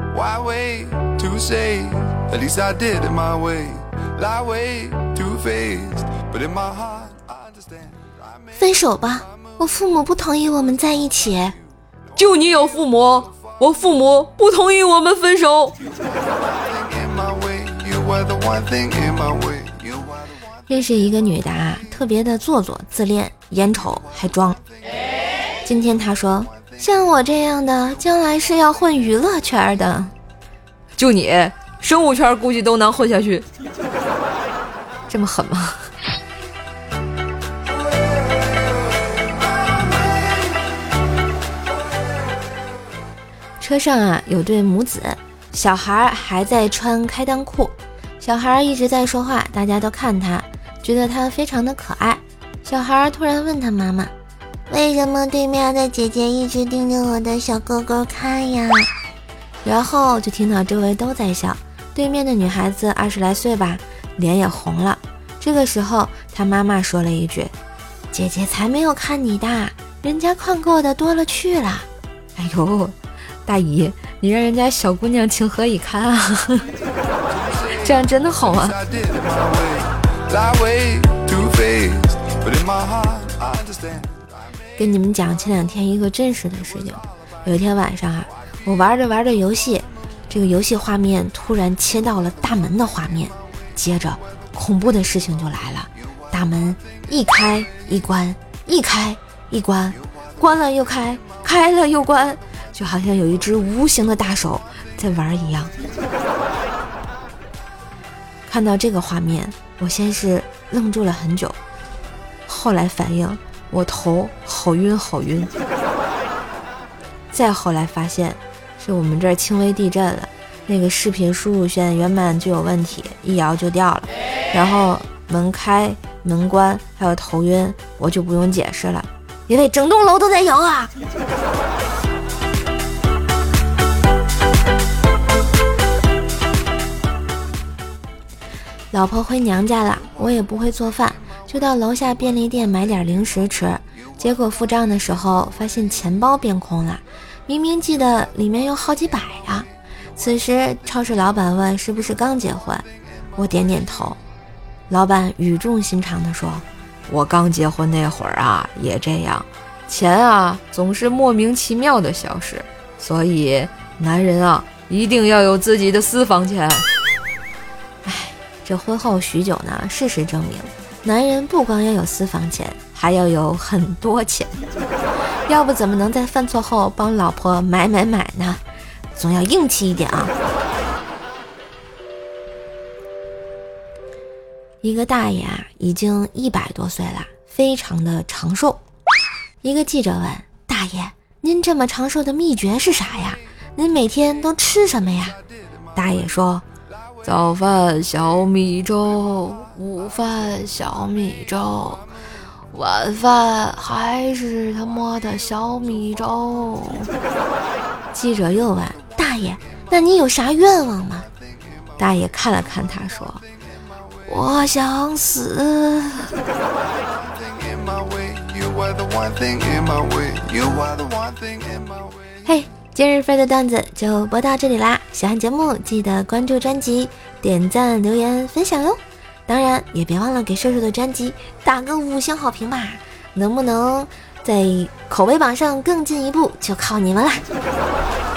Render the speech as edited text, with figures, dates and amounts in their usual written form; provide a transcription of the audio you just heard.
Why wait to say? At least I did it my way. Lie way too faced, but in my heart I understand. 分手吧，我父母不同意我们在一起。 就你有父母，我父母不同意我们分手。 认识一个女的啊，特别的做作自恋，眼丑还装。今天她说，像我这样的将来是要混娱乐圈的。 就你生物圈估计都能混下去。 这么狠吗？车上啊有对母子，小孩还在穿开裆裤，小孩一直在说话，大家都看他，觉得他非常的可爱。小孩突然问他妈妈，为什么对面的姐姐一直盯着我的小哥哥看呀？然后就听到周围都在笑，对面的女孩子20来岁吧，脸也红了。这个时候他妈妈说了一句，姐姐才没有看你的，人家看过的多了去了。 哎呦，大姨，你让人家小姑娘情何以堪啊？这样真的好吗？ 跟你们讲前2天一个真实的事情。有一天晚上啊，我玩着游戏，这个游戏画面突然切到了大门的画面，接着恐怖的事情就来了，大门一开一关，一开一关，关了又开，开了又关，就好像有一只无形的大手在玩一样。看到这个画面，我先是愣住了很久，后来反应我头好晕好晕，再后来发现是我们这儿轻微地震了，那个视频输入线原版就有问题，一摇就掉了，然后门开门关还有头晕，我就不用解释了，因为整栋楼都在摇啊。老婆回娘家了，我也不会做饭，就到楼下便利店买点零食吃，结果付账的时候发现钱包变空了，明明记得里面有好几百呀。此时超市老板问是不是刚结婚，我点点头。老板语重心长地说， 我刚结婚那会儿啊也这样，钱啊总是莫名其妙的消失，所以男人啊一定要有自己的私房钱。 这婚后许久呢，事实证明男人不光要有私房钱，还要有很多钱，要不怎么能在犯错后帮老婆买呢？总要硬气一点啊。一个大爷啊，已经100多岁了，非常的长寿。一个记者问大爷，您这么长寿的秘诀是啥呀？您每天都吃什么呀？大爷说， 早饭小米粥，午饭小米粥，晚饭还是他妈的小米粥。 记者又问大爷，那你有啥愿望吗？大爷看了看他说，我想死。嘿，今日份的段子就播到这里啦，喜欢节目记得关注专辑，点赞留言分享哟，当然也别忘了给瘦瘦的专辑打个5星好评吧，能不能在口碑榜上更进一步就靠你们啦。